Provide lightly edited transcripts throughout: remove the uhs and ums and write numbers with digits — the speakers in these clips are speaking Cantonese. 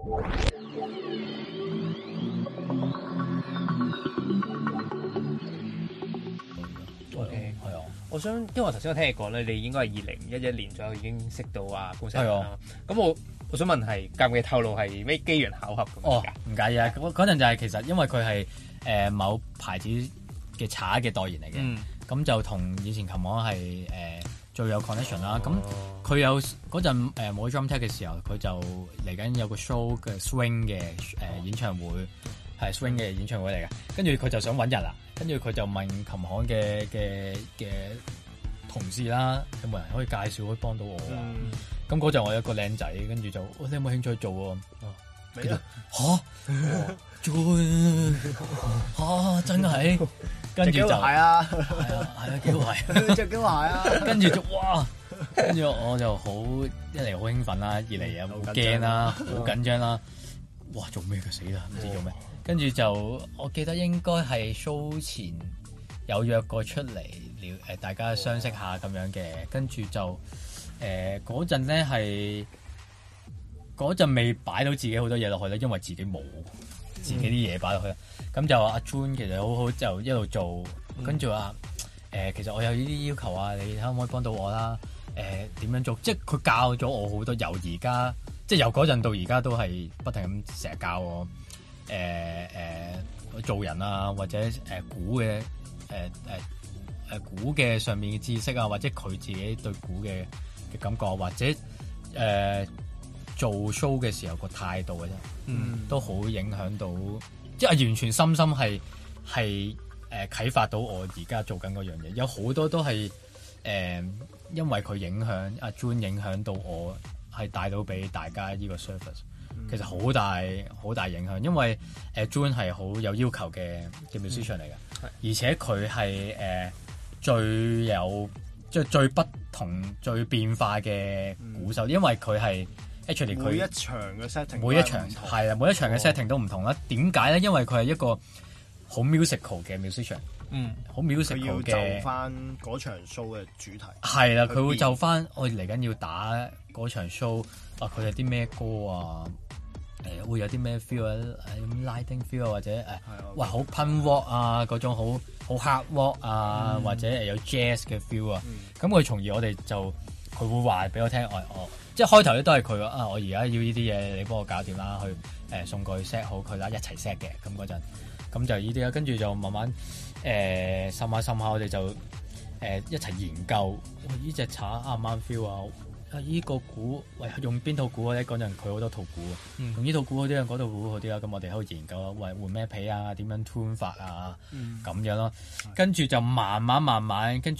OK， 係啊。我想，因為我頭先我聽你講咧，你應該係2011年左右已經識到啊龔石啦。咁我想問係介唔介意透露係咩機緣巧合咁？ 哦，唔介意啊。嗰陣就係其實因為佢係某牌子嘅茶嘅代言嚟嘅，咁就同以前琴行係最有 connection 啦。咁佢有嗰陣冇 drum tech 嘅時候，佢就嚟緊有個 show 嘅 swing 嘅演唱會，係 swing 嘅演唱會嚟嘅。跟住佢就想揾人啦，跟住佢就問琴行嘅同事啦，有冇人可以介紹可以幫到我啊？咁嗰陣我有一個靚仔，跟住就你有冇興趣做喎？跟住做真係，跟住就係啊幾好係， 隻幾好啊！ 跟住就哇，跟住我就好一嚟好興奮啦，二嚟又好驚啦，好緊張啦，哇做咩佢死啦，唔知做咩，跟住就我記得應該係 show 前有約過出嚟大家相識下咁樣嘅，跟住就嗰陣咧係嗰陣未擺到自己好多嘢落去咧，因為自己冇自己啲嘢擺落去，咁就阿 June 其實好好就一路做，跟住話其實我有呢啲要求啊，你可唔可以幫到我啦？點樣做？即係佢教咗我好多，由而家即係由嗰陣到而家都係不停咁成日教我做人啊，或者鼓嘅鼓嘅上面嘅知識啊，或者佢自己對鼓嘅感覺，或者做 show 嘅時候個態度嘅啫，都好影響到，即係完全深深係啟發到我而家做緊嗰樣嘢。有好多都係因為佢影響阿 June 影響到我，係帶到俾大家呢個 service，其實好大影響。因為June 係好有要求嘅 musician 嚟嘅，而且佢係最有即係最不同、最變化嘅鼓手，因為佢係 actually 佢每一場嘅 setting， 每一場係啊，每一場嘅 setting 都唔同啦。點解咧？因為佢係一個好 musical 嘅 musician， 好 musical 嘅。 佢要就翻嗰場 show 嘅主題。係啦，佢會就翻我嚟緊要打嗰場 show 啊！佢有啲咩歌啊？會有啲咩 feel 啊？Lighting feel 啊，或者哇好 punk rock 啊，嗰種好 hard rock 啊，或者有 jazz 嘅 feel 啊。咁佢從而我哋就佢會話俾我聽，我即係開頭咧都係佢啊！我而家要呢啲嘢，你幫我搞掂啦，去送過去 set 好佢啦，一齊 set 嘅。咁嗰陣咁就呢啲啦，跟住就慢慢滲下，我哋就一齊研究呢隻茶啱唔啱 feel 啊！依個鼓喂用邊套鼓咧？嗰陣佢好多套鼓，用呢套鼓好啲啊，嗰套鼓好啲啦。咁我哋喺度研究啊，喂換咩皮啊？點樣 tune 法啊？咁樣咯。跟住就慢慢，跟住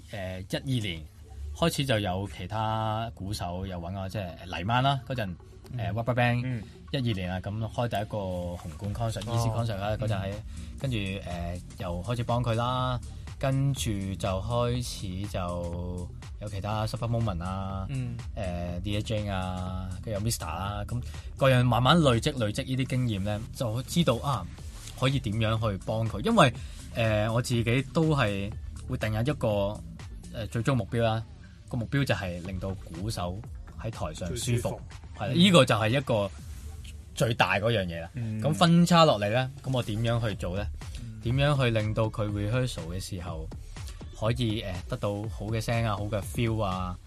12年開始就有其他鼓手又揾我，即係黎曼啦嗰陣RubberBand 12年啊，咁開第一個紅館 concert、Easy concert 啦嗰陣喺，跟住又開始幫佢啦。跟住就開始就有其他 Super Moment 啊，Dear Jane 啊，跟住有 Mr. 啦，咁各樣慢慢累積呢啲經驗咧，就知道可以點樣去幫佢，因為我自己都係會定下一個最終目標啦，個目標就係令到鼓手喺台上舒服，係啦，呢個就係一個最大嗰樣嘢啦。咁分叉落嚟咧，咁我點樣去做咧？點樣去令到佢 rehearsal 嘅時候可以得到好嘅聲啊，好嘅 feel 啊，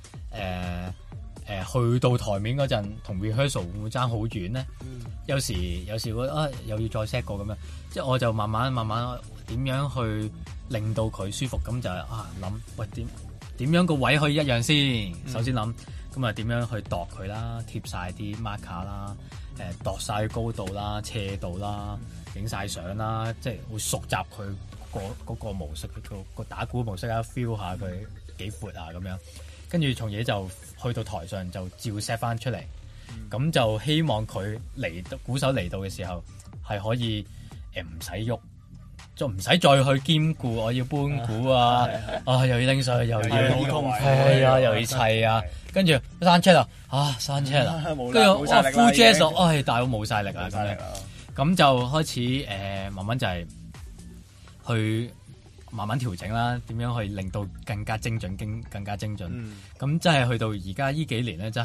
去到台面嗰陣同 rehearsal 會唔會爭好遠咧？有時會又要再 set 過咁樣，即係我就慢慢點樣去令到佢舒服，咁就諗喂點樣個位可以一樣先？首先諗咁啊點樣去度佢啦，貼晒啲 marker 啦，度晒高度啦、斜度啦。影晒相啦，即係會熟習佢嗰個模式，個打鼓模式啊 ，feel 下佢幾闊啊咁樣，跟住從而就去到台上就照 set 翻出嚟，咁就希望佢鼓手嚟到嘅時候係可以唔使喐，就唔使再去兼顧我要搬鼓啊，又要拎上去，又要開啊，又要砌啊，跟住閂車啦，閂車啦，跟住full jazz 大佬冇晒力啊咁樣。咁就開始慢慢就係去慢慢調整啦，點樣去令到更加精準，更加精準。咁即係去到而家呢幾年咧，真係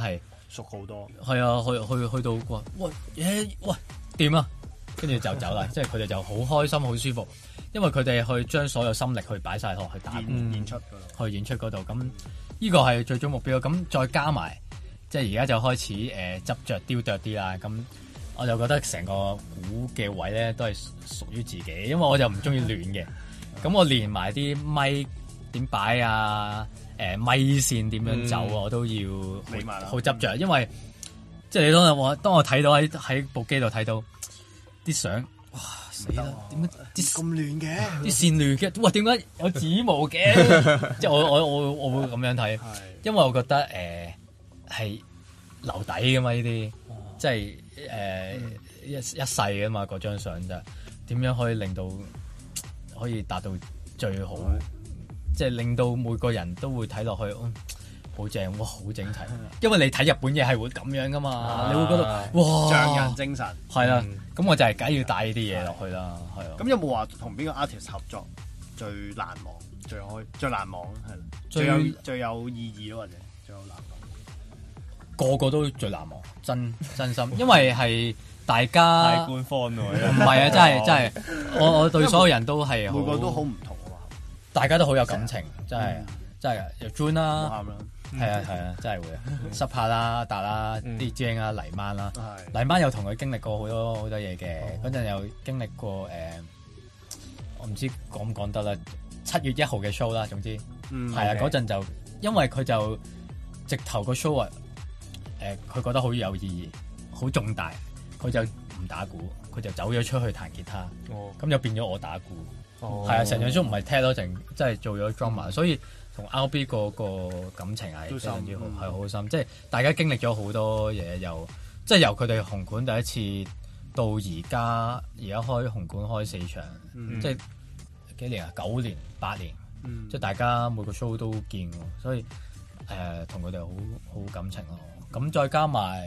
熟好多。 係啊，去到喂掂啊，跟住就走啦。即係佢哋就好開心好舒服，因為佢哋去將所有心力去擺晒落去打演出嗰度， 去演出嗰度。咁呢個係最終目標。咁再加埋，即係而家就開始執着雕琢啲啦。咁我就覺得成個鼓嘅位咧都係屬於自己，因為我就唔中意亂嘅。咁我連埋啲咪點擺啊，咪線點樣走啊，我都要好執着，因為即係你當我睇到喺部機度睇到啲相，哇死啦！點解啲咁亂嘅？ 啲線亂嘅，哇點解有指模嘅？即係我會咁樣睇，因為我覺得係留底噶嘛呢啲，即係一世噶嘛嗰張相就點樣可以令到可以達到最好，即係令到每個人都會睇落去，好正，哇，好整齊。因為你睇日本嘢係會咁樣噶嘛，你會覺得哇， 匠人精神係啦。咁我就係梗要帶呢啲嘢落去啦，係啊。 咁有冇話同邊個 artist 合作最難忘、最難忘係最有意義咯，或者最有難忘？ 個個都最難忘，真心，因為係大家太官方喎， 唔係啊，真係，我對所有人都係每個都好唔同啊嘛， 大家都好有感情，真係有 June 啦，係啊，真係會濕下啦、達啦、啲 Jane 啊、黎曼啦，黎曼有同佢經歷過好多嘢嘅，嗰陣有經歷過我唔知講唔講得啦，7月1號嘅 show 啦，總之係啊，嗰陣就因為佢就直頭個 show 啊，佢覺得好有意義、好重大，佢就唔打鼓，佢就走咗出去彈吉他，咁就變咗我打鼓，係啊，成場 show 唔係踢咯，淨即係做咗 drummer，所以同 RB 個感情係非常之好，係好深，即係大家經歷咗好多嘢，即係由佢哋紅館第一次到而家開紅館開4場，即係幾年啊？9年、8年，即係大家每個 show 都見，所以同佢哋好感情咯。咁再加埋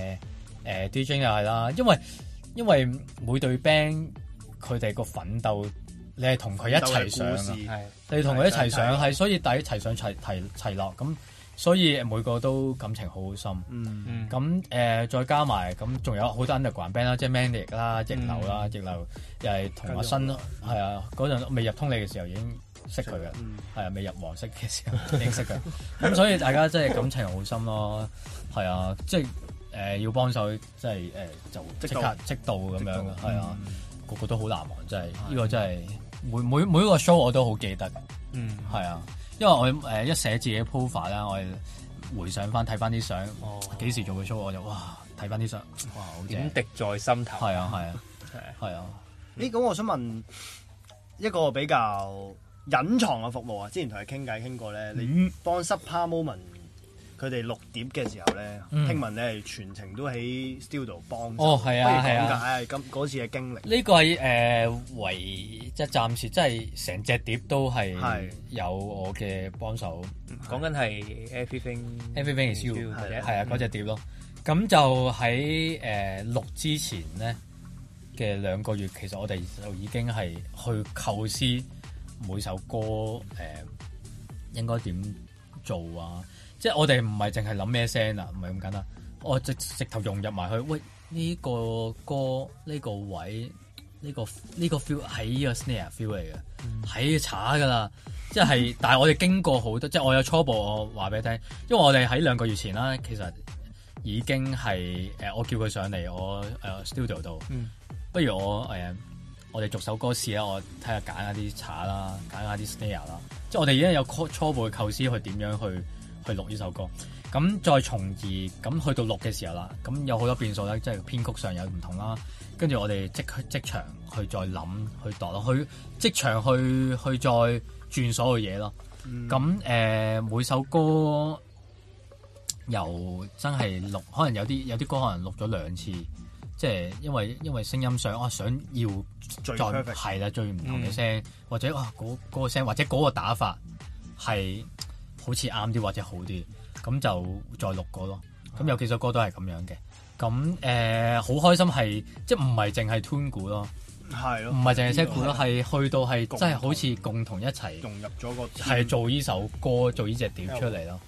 DJ 又係啦，因為每隊 band 佢哋個奮鬥，你係同佢一齊上啊，你同佢一齊上係，所以大家一齊上齊落，咁所以每個都感情好深。咁再加埋咁，仲有好多 underground band 啦，即係 Manic 啦、逆流啦，逆流又係同阿新係啊，嗰陣未入通利嘅時候已經識佢嘅，係啊，未入黃色嘅時候已經識佢，咁所以大家真係感情好深咯，係啊，即係要幫手，即係就即刻即到咁樣嘅，係啊，個個都好難忘，真係呢個真係每一個 show 我都好記得，係啊，因為我一寫自己 profile 啦，我回想翻睇翻啲相，幾時做嘅 show 我就哇睇翻啲相，哇好正， 點滴在心頭， 係啊。 咁我想問一個比較隱藏嘅服務啊，之前同佢傾過咧，你幫 Supper Moment 佢哋錄碟嘅時候咧，聽聞你係全程都喺 studio 幫手， 係啊， 不如講解咁嗰次嘅經歷。 呢個係唯即係暫時，即係成隻碟都係有我嘅幫手。 講緊係 Everything Is You 係啊嗰隻碟咯。咁就喺錄之前咧嘅2個月，其實我哋就已經係去構思每首歌應該點做啊！即係我哋唔係淨係諗咩聲啊，唔係咁簡單。我直頭融入埋去，喂呢個歌呢個位呢個 feel 係呢個 snare feel 嚟嘅，係查㗎啦。即係，但係我哋經過好多，即係我有初步我話俾你聽，因為我哋喺2個月前啦，其實已經係我叫佢上嚟我studio 度，不如我哋逐首歌試啦，我睇下揀下啲查啦，揀下啲 snare 啦，即係我哋已經有初步嘅構思去點樣去錄呢首歌，咁再從而咁去到錄嘅時候啦，咁有好多變數啦，即係編曲上有唔同啦，跟住我哋即場去再諗去度咯，去即場去再轉所有嘢咯，咁每首歌由真係錄，可能有啲歌可能錄咗2次。即係因為聲音上，想要再係啦，最唔同嘅聲，或者嗰個聲，或者嗰個打法係好似啱啲或者好啲，咁就再錄過咯。咁有幾首歌都係咁樣嘅。咁好開心係，即係唔係淨係 tune 鼓咯，係咯，唔係淨係 set 鼓咯，係去到係真係好似共同一齊融入咗個係做呢首歌，做呢隻碟出嚟咯。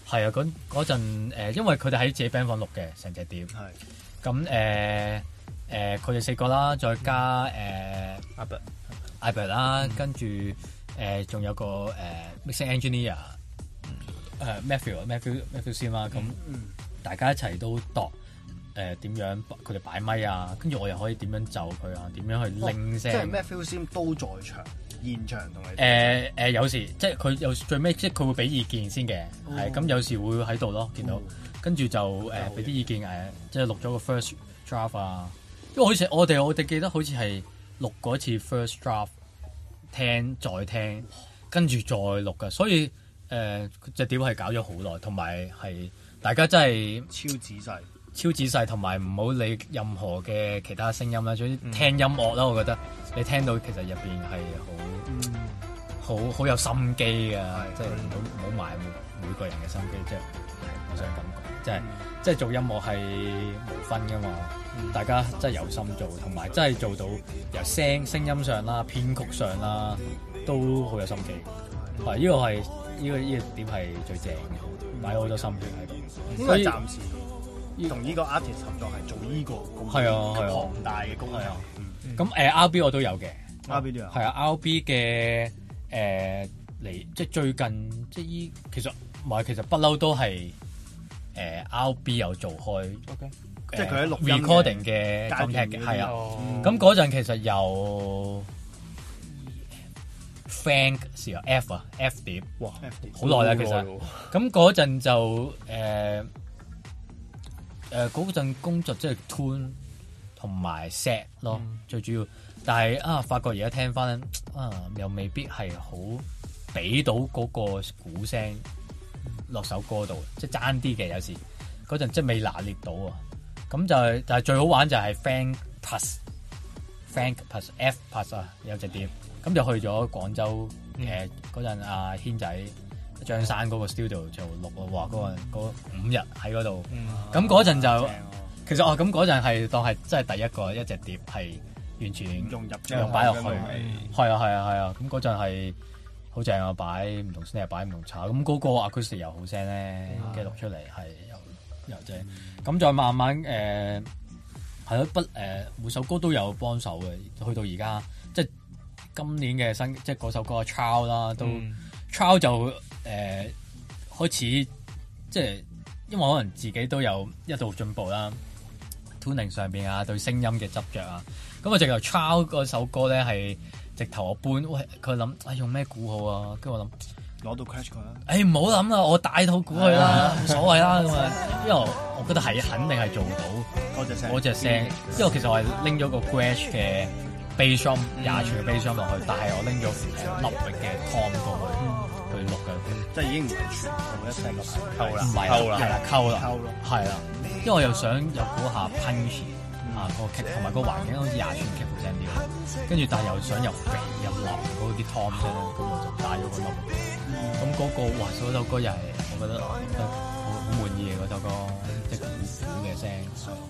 係啊，嗰陣因為佢哋喺自己 band 房錄嘅成隻碟。係。咁佢哋4個啦，再加Albert 啦，跟住仲有個mixing engineer Matthew 先啦。咁大家一齊都度點樣佢哋擺咪啊，跟住我又可以點樣就佢啊，點樣去拎聲。即係 Matthew 先都在場。現場同你有時即係佢有最尾，即係佢會俾意見先嘅，係咁有時會喺度咯，見到跟住就俾啲意見即係錄咗個 first draft 啊，因為好似我哋記得好似係錄過一次 first draft， 聽再聽，跟住再錄噶，所以隻碟係搞咗好耐，同埋係大家真係超仔細，同埋唔好理任何嘅其他聲音啦，總之聽音樂啦，我覺得你聽到其實入邊係好有心機嘅，即係唔好埋每個人嘅心機，即係我想咁講，即係做音樂係無分噶嘛，大家真係有心做，同埋真係做到由聲音上啦、編曲上啦，都好有心機。係呢個點係最正嘅，擺咗好多心血喺度。 所以暫時同呢個 artist 合作係做呢個咁龐大嘅工作。 咁RB 我都有嘅 ，RB 都有。 係啊 ，RB 嘅嚟即係最近即係其實不嬲都係RB 有做開。 OK， 即係佢喺錄音 recording 嘅 contact 嘅，係啊。咁嗰陣其實有 Frank 時候 F 碟，哇，好耐啦其實。咁嗰陣就嗰陣工作即係 tune 同埋 set 咯，最主要。但係發覺而家聽翻又未必係好俾到嗰個鼓聲落首歌度，即係爭啲嘅有時。嗰陣即係未拿捏到啊。咁但係最好玩就係 Frank plus F plus 啊，有隻碟。咁就去咗廣州嗰陣阿軒仔張山嗰個 studio 就錄咯，哇！嗰5日喺嗰度，咁嗰陣就其實咁嗰陣係當係真係第一隻碟係完全用擺落去，係啊，咁嗰陣係好正啊，擺唔同 snare 擺唔同炒，咁嗰個 acoustic 又好聲咧，跟住錄出嚟係又正，咁再慢慢係咯，每首歌都有幫手嘅，去到而家即係今年嘅新即係嗰首歌 Trial 啦，都 Trial 就開始即係因為可能自己都有一度進步啦 ，tuning 上邊啊，對聲音嘅執着啊，咁我直頭 Trial 嗰首歌咧係直頭我搬，喂佢諗用咩鼓好啊，跟住我諗攞到 crash 佢啦， 唔好諗啦，我帶套鼓去啦，冇所謂啦咁啊，因為我覺得係肯定係做到嗰隻聲，因為其實我係拎咗個 Gretsch 嘅 bass drum 20寸嘅 bass drum 落去，但係我拎咗立域嘅 tom 過去錄嘅， 即係已經唔係全部一齊溝啦， 唔係溝啦，係啦，因為我又想有嗰下 punch 個 kick 同埋個環境好似20寸 kick 好聲啲，跟住但係又想又肥又立嗰啲 tom 聲，咁我就帶咗個粒。咁嗰個嗰首歌又係我覺得好滿意嘅嗰首歌，即係鼓嘅聲。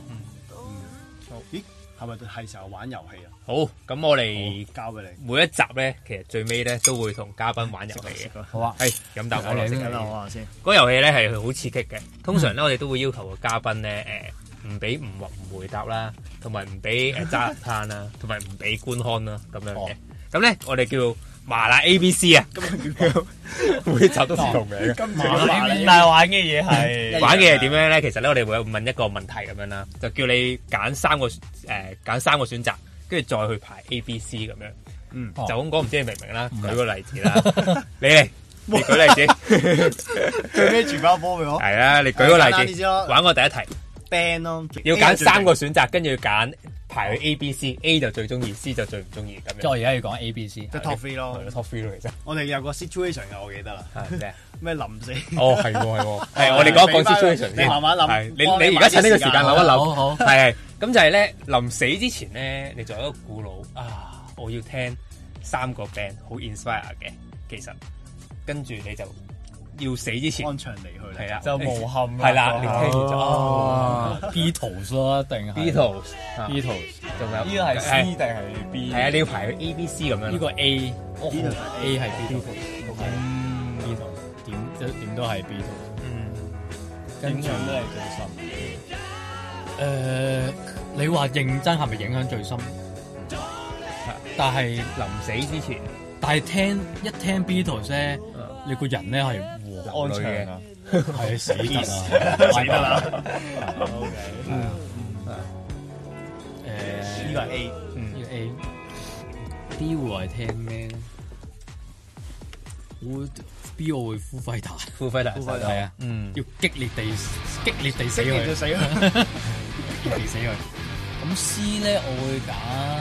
咦？係咪係時候玩遊戲啊？ 好，咁我哋交俾你。 每一集咧，其實最尾咧都會同嘉賓玩遊戲嘅。 好啊， 係飲啖可樂先。 我話先。 嗰個遊戲咧係好刺激嘅。通常咧我哋都會要求個嘉賓咧唔俾唔回答啦，同埋唔俾揸爛攤啦，同埋唔俾觀看啦咁樣嘅。咁咧我哋叫麻辣 ABC 啊，每集都唔同名嘅。但係玩嘅嘢係玩嘅係點樣咧？其實咧我哋會問一個問題咁樣啦，就叫你揀三個選擇，跟住再去排 ABC 咁樣。就咁講，唔知你明唔明啦？舉個例子啦，你舉例子， 最尾傳翻波俾我。 係啊，你舉個例子，玩個第一題 band 咯， 要揀3個選擇，跟住要揀。排去 A、B、C，A 就最中意，C 就最唔中意咁樣。 即係我而家要講 A、B、C， 即係 top 3咯 ，top 3咯，其實。 我哋有個 situation 嘅，我記得啦。係咩臨死？ 哦，係我哋講 situation 先。 你慢慢諗。 你而家趁呢個時間諗一諗。 好。 係，咁就係咧，臨死之前咧，你就有一個鼓佬啊，我要聽3個 band 好 inspire 嘅，其實跟住你就。要死之前， 安詳離去係啊， 就無憾係啦，你聽完就 Beatles 咯，定係 Beatles，仲有呢個係 C 定係 B？ 係啊，你要排去 A、B、C 咁樣。 呢個 A 係 Beatles，Beatles 點都係 Beatles。 跟住影響都係最深。 你話認真係咪影響最深？但係臨死之前， 但係一聽 Beatles 咧，你個人咧係安詳啊， 係死得啦， 死得啦。OK， 呢個係 A， 呢個 A。D 會係聽咩咧？B 我會Foo Fighters，係啊，要激烈地死佢， 就死啦， 激烈地死佢。咁 C 咧，我會揀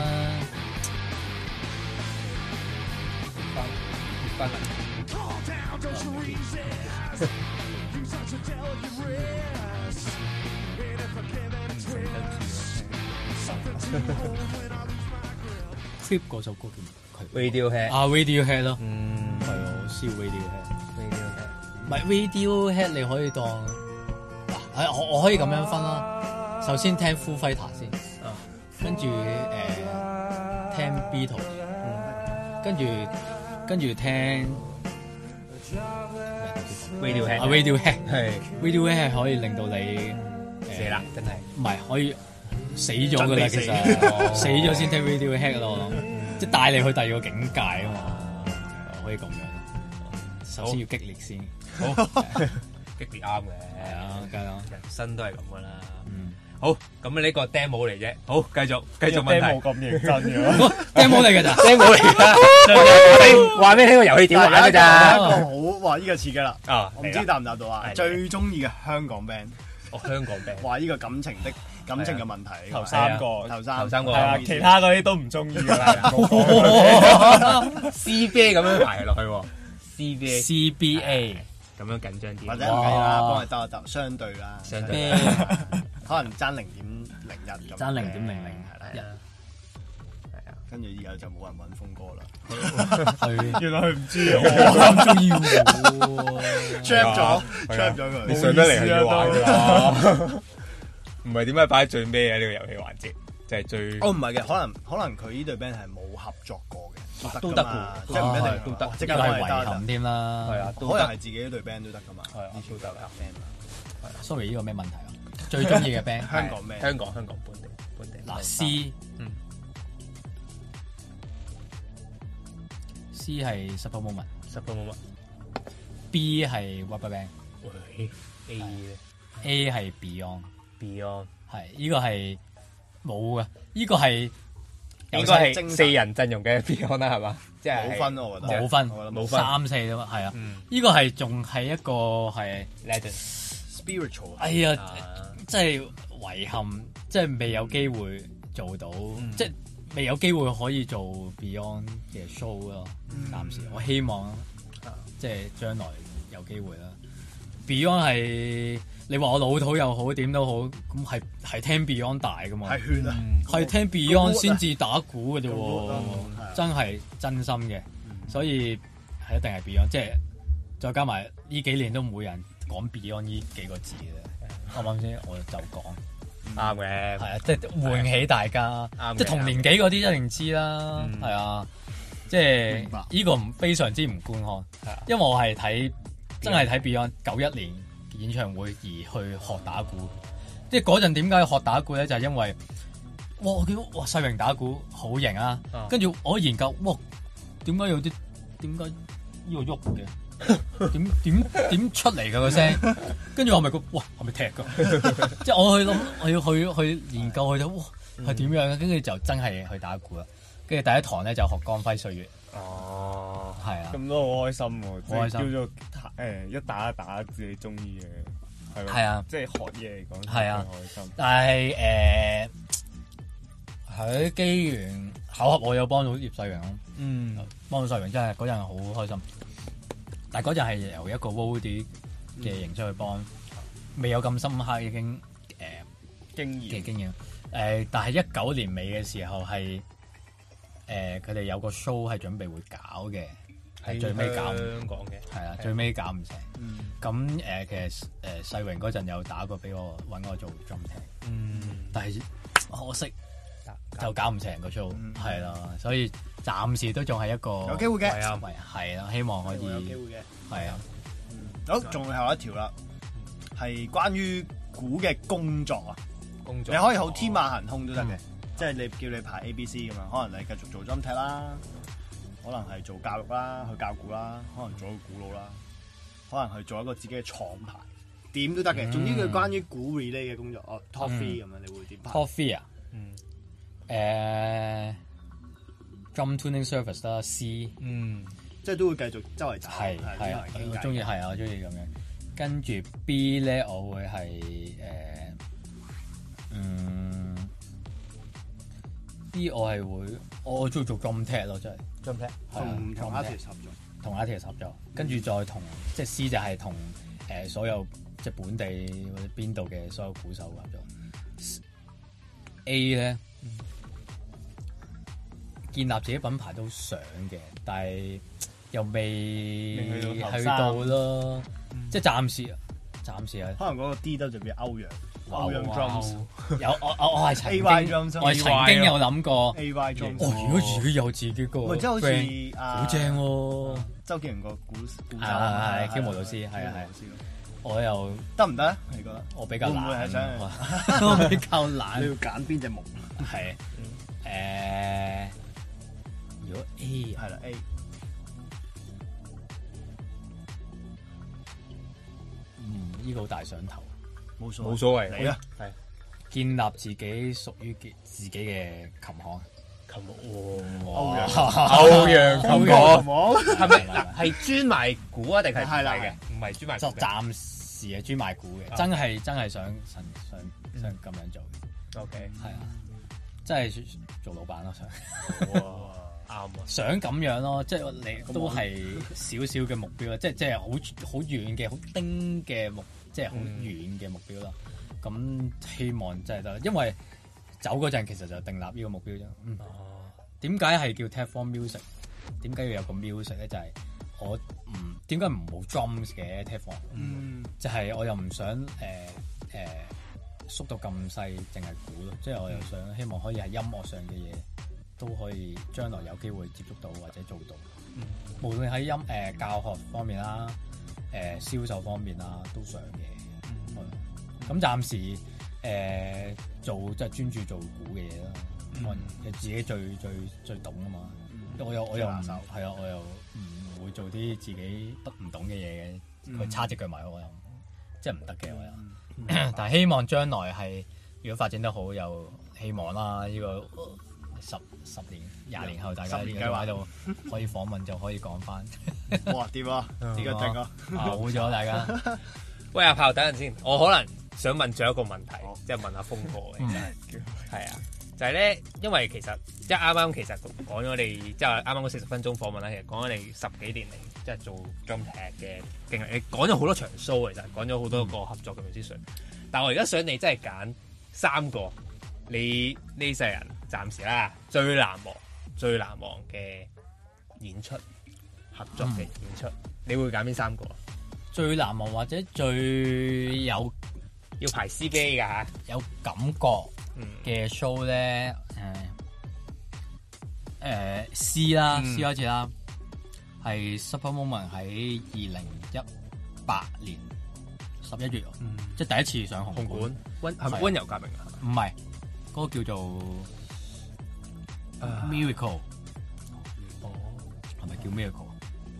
翻嚟。Creep 嗰首歌叫咩 Radiohead 啊 Radiohead 咯，係係我燒 Radiohead。唔係 Radiohead， Radiohead 你可以當嗱，我可以咁樣分啦。首先聽 Foo Fighters 先，跟住聽 Beatles，跟住聽 Radiohead 係 Radiohead 係可以令到你死啦，真係唔係可以死咗噶啦，其實死咗先聽 Radiohead 咯，即係帶你去第二個境界啊嘛，可以咁樣。首先要激烈先， 好激烈啱嘅， 係啊，梗係啦， 人生都係咁噶啦。好，咁呢個 demo 嚟啫。好，繼續問題。 冇咁認真嘅 demo 嚟㗎咋 demo 嚟㗎。話俾你聽個遊戲點玩㗎咋？ 一個好哇！呢個刺激啦。 啊， 我唔知答唔答到啊？最中意嘅香港 band， 香港 band。 話呢個感情嘅問題。 頭三個係啊，其他嗰啲都唔中意㗎啦。 CBA 咁樣排落去喎。 CBA 咁樣緊張啲， 或者唔計啦，幫佢鬥一鬥，相對啦， 相對可能爭0.01咁， 爭0.00 係啦，係啊，跟住以後就冇人揾峰哥啦。 係， 原來佢唔知啊， 我咁中意喎 trap 咗佢， 你上得嚟係要玩㗎啦。 唔係點解擺喺最尾嘅呢個遊戲環節？就係最唔係嘅，可能佢呢隊 band 係冇合作過嘅， 都得㗎， 即係唔一定都得， 即呢個係遺憾添啦。 係啊， 可能係自己呢隊 band 都得㗎嘛， 係啊，都得㗎。 Sorry， 呢個咩問題啊？最中意嘅 band 香港 band， 香港本地嗱 C 係 Supper Moment，B 係 RubberBand， A 係 Beyond，係呢個係冇嘅，呢個係應該係4人陣容嘅 Beyond 啦，係嘛？即係冇分咯，我覺得冇分 3-4 啫嘛，係啊，呢個係仲係一個係 spiritual。 哎呀，真係遺憾，即係未有機會做到，即係未有機會可以做 Beyond 嘅 show 咯。暫時我希望即係將來有機會啦。Beyond 係你話我老土又好，點都好，咁係聽 Beyond 大噶嘛？ 係血啊！ 係聽 Beyond 先至打鼓嘅啫喎，真係真心嘅，所以係一定係 Beyond。即係再加埋呢幾年都冇人講 Beyond 呢幾個字嘅，啱唔啱先？我就講啱嘅， 係啊，即係喚起大家，即係同年紀嗰啲一定知啦，係啊，即係呢個非常之唔觀看，因為我係真係睇 Beyond 91年演唱會而去學打鼓，即係嗰陣點解學打鼓咧？就係因為我見到世榮打鼓好型啊，跟住我研究點解有啲點解呢個喐嘅？點出嚟㗎個聲？跟住我咪係咪踢㗎？即係我去諗，我要去研究佢就係點樣嘅，跟住就真係去打鼓啦。跟住第一堂咧就學光輝歲月。 哦， 係啊， 咁都好開心喎， 好開心叫做一打一打自己中意嘅，係咯， 係啊， 即係學嘢嚟講係啊， 開心。 但係喺機緣巧合，我有幫到葉世榮咯。幫到世榮真係嗰陣好開心。但係嗰陣係由一個 Woody 嘅形式去幫，未有咁深刻已經經驗。但係19年尾嘅時候係佢哋有個 show 係準備會搞嘅，係最尾搞香港嘅， 係啊，最尾搞唔成。咁其實世榮嗰陣有打過俾我揾我做 drum tech，但係可惜就搞唔成個 show，係啦，所以暫時都仲係一個有機會嘅， 係啦，希望可以有機會嘅， 係啊。 好，仲有一條啦， 係關於鼓嘅工作啊。 工作你可以好天馬行空都得嘅，即係你叫你排 A、B、C 咁樣，可能你繼續做 drum tech 啦，可能係做教育啦，去教鼓啦，可能做一個鼓佬啦，可能去做一個自己嘅廠牌，點都得嘅。總之佢關於鼓 relay 嘅工作，哦 top three 咁樣，你會點排 ？Top three 啊，drum tuning service 啦，C， 即係都會繼續周圍走， 係啊，我中意係啊，我中意咁樣。跟住 B 咧，我會係B 我係會，我中意做 drum tech 咯，真係 drum tech 同 artist 合作， 同 artist 合作，跟住再同即係 C 就係同所有即係本地或者邊度嘅所有鼓手合作。A 咧。建立自己品牌都想嘅，但係又未去到咯，即係暫時啊。 可能嗰個 D 就變歐陽 drums， 有我係曾經有諗過 AY drums。 如果自己有自己個， 即係好似好正喎。 周杰倫個鼓手係Q老師，係。我又得唔得？你覺得？ 我比較懶， 我比較懶。 你要揀邊隻木？ 係如果 A 係啦 A， 呢個好大上頭， 冇所謂， 嚟啊！ 係建立自己屬於自己嘅琴行， 歐陽琴行係咪係專賣鼓啊？定係係啦嘅？唔係專賣， 就暫時係專賣鼓嘅，真係想咁樣做。 OK， 係啊，真係做老闆咯，想。 啱啊！ 想咁樣咯，即係你都係少少嘅目標啦，即係好遠嘅、好丁嘅即係好遠嘅目標啦。咁希望真係得，因為走嗰陣其實就訂立呢個目標啫。點解係叫 Tech Form Music？ 點解要有個 music 咧？就係我點解唔冇 drums 嘅 Tech Form？就係我又唔想縮到咁細，淨係鼓咯。即係我又想希望可以係音樂上嘅嘢。都可以將來有機會接觸到或者做到，無論喺教學方面啦、銷售方面啦，都想嘅。咁暫時做即係專注做鼓嘅嘢啦，可能自己最懂啊嘛。我又唔係啊，我又唔會做啲自己唔懂嘅嘢嘅，佢叉隻腳埋我又即係唔得嘅我又。但係希望將來係如果發展得好，有希望啦呢個。10年、20年後，大家呢個喺度可以訪問，就可以講翻。 哇！掂啊！點解定啊？ 好咗大家。 喂，阿炮，等陣先，我可能想問最後一個問題，即係問阿峰哥嘅。係啊，就係咧，因為其實即係啱啱其實講咗你，即係啱啱嗰40分鐘訪問啦，其實講咗你10幾年嚟即係做 drum tech 嘅經歷，你講咗好多場 show 其實講咗好多個合作嘅 musician。但係我而家想你真係揀3個。你呢世人暫時啦，最難忘嘅演出合作嘅演出，你會揀邊3個？ 最難忘或者最有要排 CBA 㗎嚇， 有感覺嘅 show 咧，C 啦，C 開始啦，係 Supper Moment 喺2018年11月，即係第一次上紅館， 係咪溫柔革命啊？ 唔係。嗰個叫做 Miracle， 係咪叫 Miracle？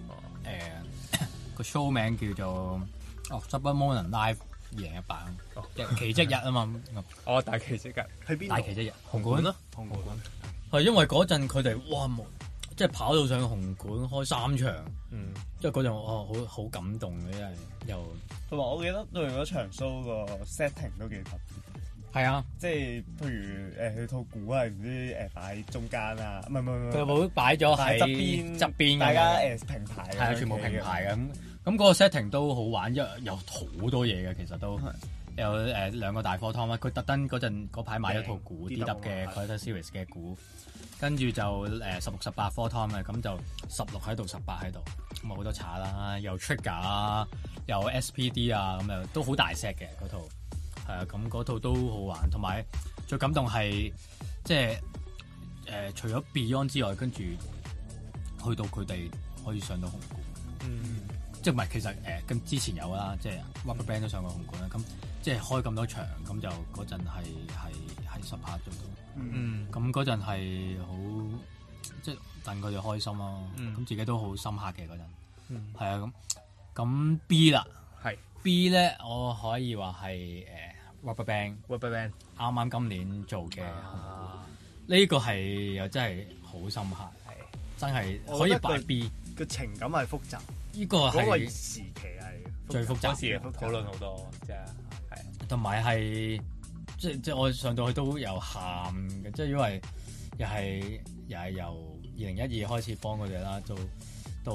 個 show 名叫做Supper Moment Live 2018，奇蹟日啊嘛。 大奇蹟日去邊度？ 大奇蹟日紅館咯， 紅館係因為嗰陣佢哋哇即係跑到上紅館開3場，即係嗰陣好感動嘅，真係又同埋我記得對嗰場 show 個 setting 都幾特別。 係啊， 即係譬如佢套鼓係唔知擺喺中間啊，唔係， 佢冇擺咗喺側邊，大家平排， 係啊，全部平排嘅咁嗰個 setting 都好玩，因為有好多嘢嘅，其實都有2個大 four tom 啦，佢特登嗰排買咗套鼓 DW 嘅 Collector Series 嘅鼓，跟住就16、18 four tom 嘅，咁就16喺度，18喺度，咁好多叉啦，又 trigger 啊，又 SPD 啊，咁又都好大 set 嘅嗰套。係啊，咁嗰套都好玩，同埋最感動係即係除咗 Beyond 之外，跟住去到佢哋可以上到紅館，即即係唔係其實咁之前有啦，即係 RubberBand 都上過紅館啦。咁即係開咁多場，咁就嗰陣係10拍做到。咁嗰陣係好即係戥佢哋開心咯。咁自己都好深刻嘅嗰陣。係啊，咁 B 啦，係 B 咧，我可以話係RubberBand 啱啱今年做嘅。呢個係又真係好深刻，係真係可以擺 B。 個情感係複雜， 呢個係嗰個時期係最複雜嘅，討論好多，即係係。 同埋係即我上到去都有喊嘅，即係因為又係由2012開始幫佢哋啦，到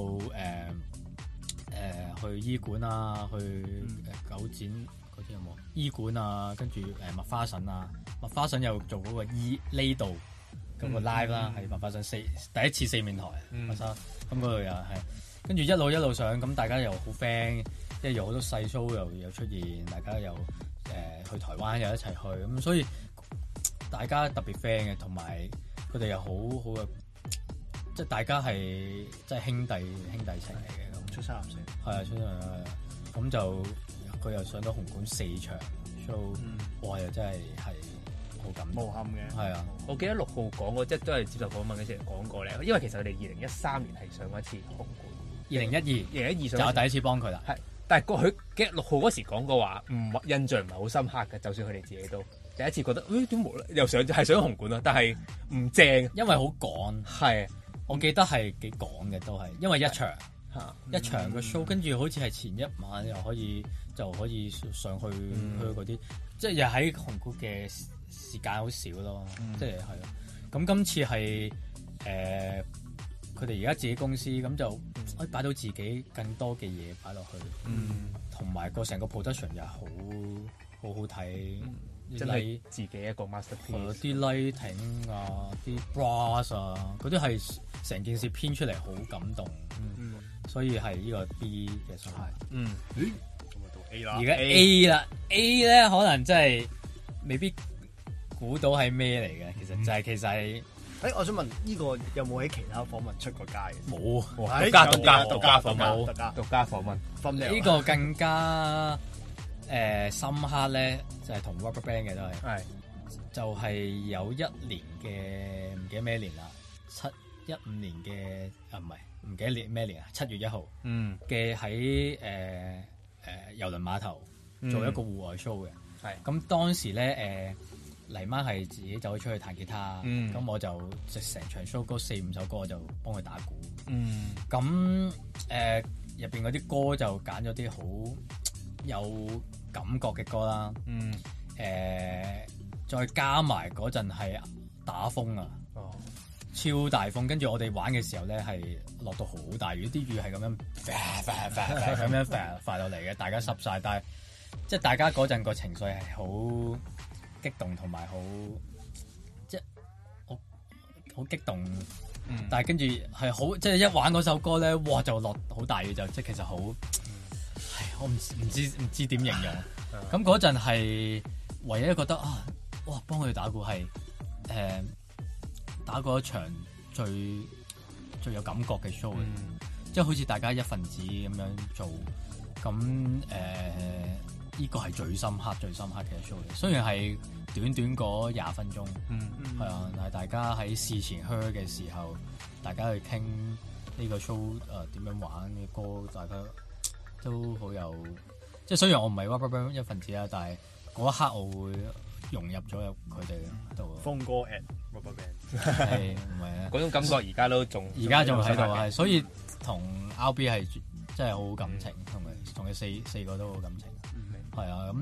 去醫館啊，去九展嗰啲有冇？醫館啊，跟住麥花臣啊，麥花臣又做嗰個呢度嗰個 live 啦，喺麥花臣第一次四面台，咁嗰度又係，跟住一路上，咁大家又好 friend，即係有好多細 show 又出現，大家又去台灣又一齊去，咁所以大家特別 friend 嘅，同埋佢哋又好嘅，即係大家係即係兄弟情嚟嘅咁。出三入四係啊，出三咁就佢又上到紅館4場 show，哇！又真係好感動，無憾嘅。係啊， 我記得6號講過，即係都係接受訪問嗰時講過咧。因為其實佢哋2013年係上過一次紅館，2012 就我第一次幫佢啦。 係，但係佢記得6號嗰時講過話，印象唔係好深刻嘅。就算佢哋自己都第一次覺得，點無啦又上紅館啦，但係唔正， 因為好趕。係，我記得係幾趕嘅都係，因為一場個 show，跟住好似係前一晚就可以上去嗰啲，即係又喺紅館嘅時間好少咯，即係係咯。咁今次係佢哋而家自己公司，咁就可以擺到自己更多嘅嘢擺落去，同埋個成個 production 又好好睇， 真係自己一個 masterpiece。 啲 lighting 啊，啲 brass 啊，嗰啲係成件事編出嚟好感動，所以係呢個 B 嘅狀態。咁啊到 A 啦，而家 A 啦 ，A 咧可能真係未必估到係咩嚟嘅，其實就係我想問呢個有冇喺其他訪問出過街？ 冇， 獨家訪問。 呢個更加深刻咧，就係同 RubberBand 嘅都係，就係有一年嘅唔記得咩年啦，15年嘅唔記得年咩年啊，7月1號嘅喺郵輪碼頭做一個戶外 show 嘅，咁當時咧黎媽係自己走咗出去彈吉他，咁我就即成場 show 嗰4-5首歌我就幫佢打鼓，咁入邊嗰啲歌就揀咗啲好有感覺嘅歌啦，再加埋嗰陣係打風啊，超大風，跟住我哋玩嘅時候咧係落到好大雨，啲雨係咁樣咁樣滑落嚟嘅，大家濕晒，但係即係大家嗰陣個情緒係好激動同埋好即係好激動，但係跟住係好即係一玩嗰首歌咧，哇就落好大雨，就即係其實好，我唔知點形容。咁嗰陣係唯一覺得哇幫佢打鼓係打過一場最有感覺嘅 show，即係好似大家一份子咁樣做，咁呢個係最深刻嘅 show 嚟。雖然係短嗰20分鐘，係啊，但係大家喺事前 hear 嘅時候，大家去傾呢個 show 點樣玩嘅歌，大家都好有。即係雖然我唔係 RubberBand 一份子啦，但係嗰一刻我會融入咗入佢哋度。 峰哥 at RubberBand 係唔係啊？ 嗰種感覺而家仲喺度，係所以同 RB 係真係好好感情，同佢四個都好感情。係啊，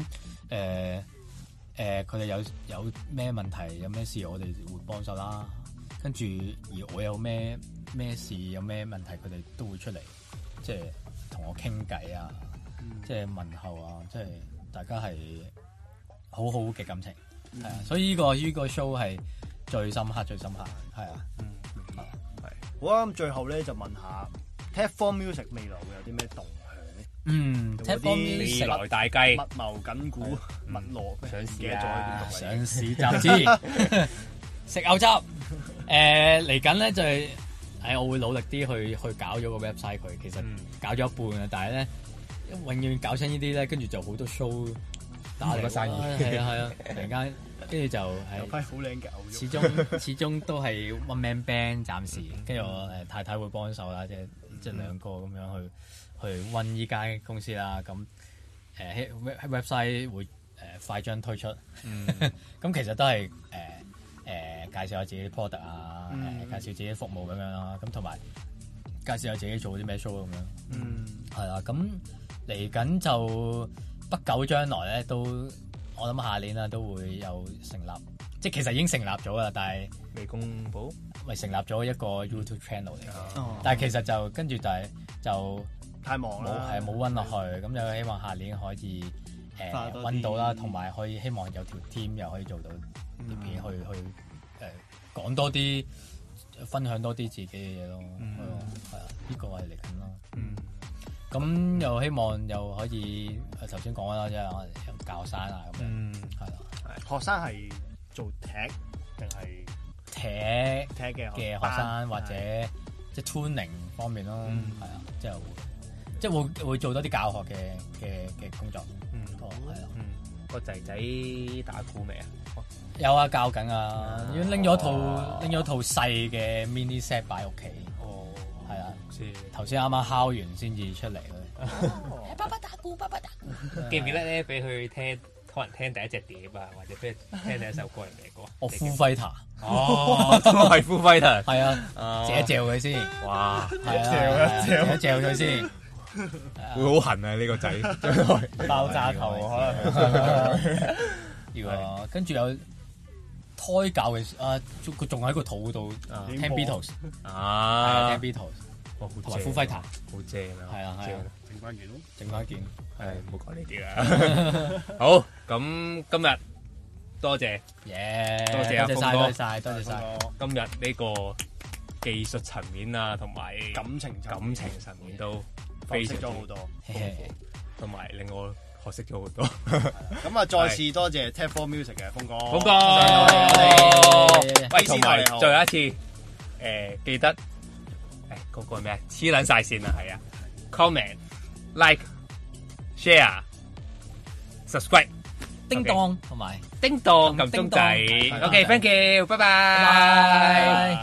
咁佢哋有咩問題，有咩事，我哋會幫手啦。跟住而我有咩事，有咩問題，佢哋都會出嚟，即係同我傾偈啊，即係問候啊，即係大家係好好嘅感情，係啊。所以呢個 show 係最深刻，係啊。 好啊，咁最後咧就問下 Tapform Music 未來會有啲咩動向咧 ？Tapform Music 未來大計， 密謀緊股，密鑼上市上市集資，食牛汁。嚟緊咧就係我會努力啲去搞咗個 website 佢。其實搞咗一半啊，但係咧永遠搞親呢啲咧，跟住就好多 show 打嚟個生意。係啊，突然間跟住就有批好靚嘅牛肉。始終都係 one man band 暫時，跟住我太太會幫手啦，即係兩個咁樣去 run 依間公司啦。咁website 會快將推出。咁其實都係介紹下自己啲 product 啊，介紹自己服務咁樣啦，咁同埋介紹下自己做啲咩 show 咁樣。係啦，咁嚟緊就不久將來咧，都我諗下年啦都會有成立，即係其實已經成立咗啦，但係未公佈， 咪成立咗一個 YouTube channel 嚟嘅。但係其實就跟住就太忙啦， 冇溫落去，咁就希望下年可以溫到啦，同埋可以希望有條 team 又可以做到啲片去講多啲，分享多啲自己嘅嘢咯。係啊，呢個係嚟緊咯。咁又希望又可以頭先講啦，即係教學生啊咁樣。係啦， 學生係做踢定係踢嘅學生，或者即係 tuning 方面咯。係啊，即係會做多啲教學嘅工作。係啊。 個仔仔打鼓未啊？ 有啊，教緊啊，已經拎咗套細嘅 mini set 擺屋企。係啊，頭先啱啱敲完先至出嚟咧。爸爸打鼓，爸爸打鼓。 記唔記得咧？俾佢聽，可能聽第一隻碟啊，或者俾佢聽第一首歌係咩歌？ Foo Fighter。 都係 Foo Fighter。 係啊，嚼佢先。哇！嚼佢先。 會好痕啊！呢個仔爆炸頭可能。 跟住有胎教嘅佢仲喺個肚度聽 Beatles。聽 Beatles。同埋 Foo Fighter， 好正啊！ 係啊，整翻件， 唔好講呢啲啦。好，咁今日多謝，多謝阿峰哥， 多謝晒。 今日呢個技術層面啊，同埋感情層面都非常咗好多， 同埋令我學識咗好多。 咁啊，再次多謝 Tap For Music 嘅峰哥， 喂，同埋最後一次，記得。嗰個係咩？黐撚晒線啊，係啊 ！Comment、Like、Share、Subscribe、 叮當同埋叮當撳鐘仔。OK，thank you，拜拜。